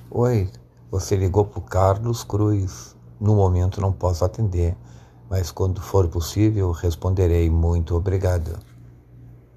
Oi, você ligou para o Carlos Cruz. No momento não posso atender, mas quando for possível responderei. Muito obrigado.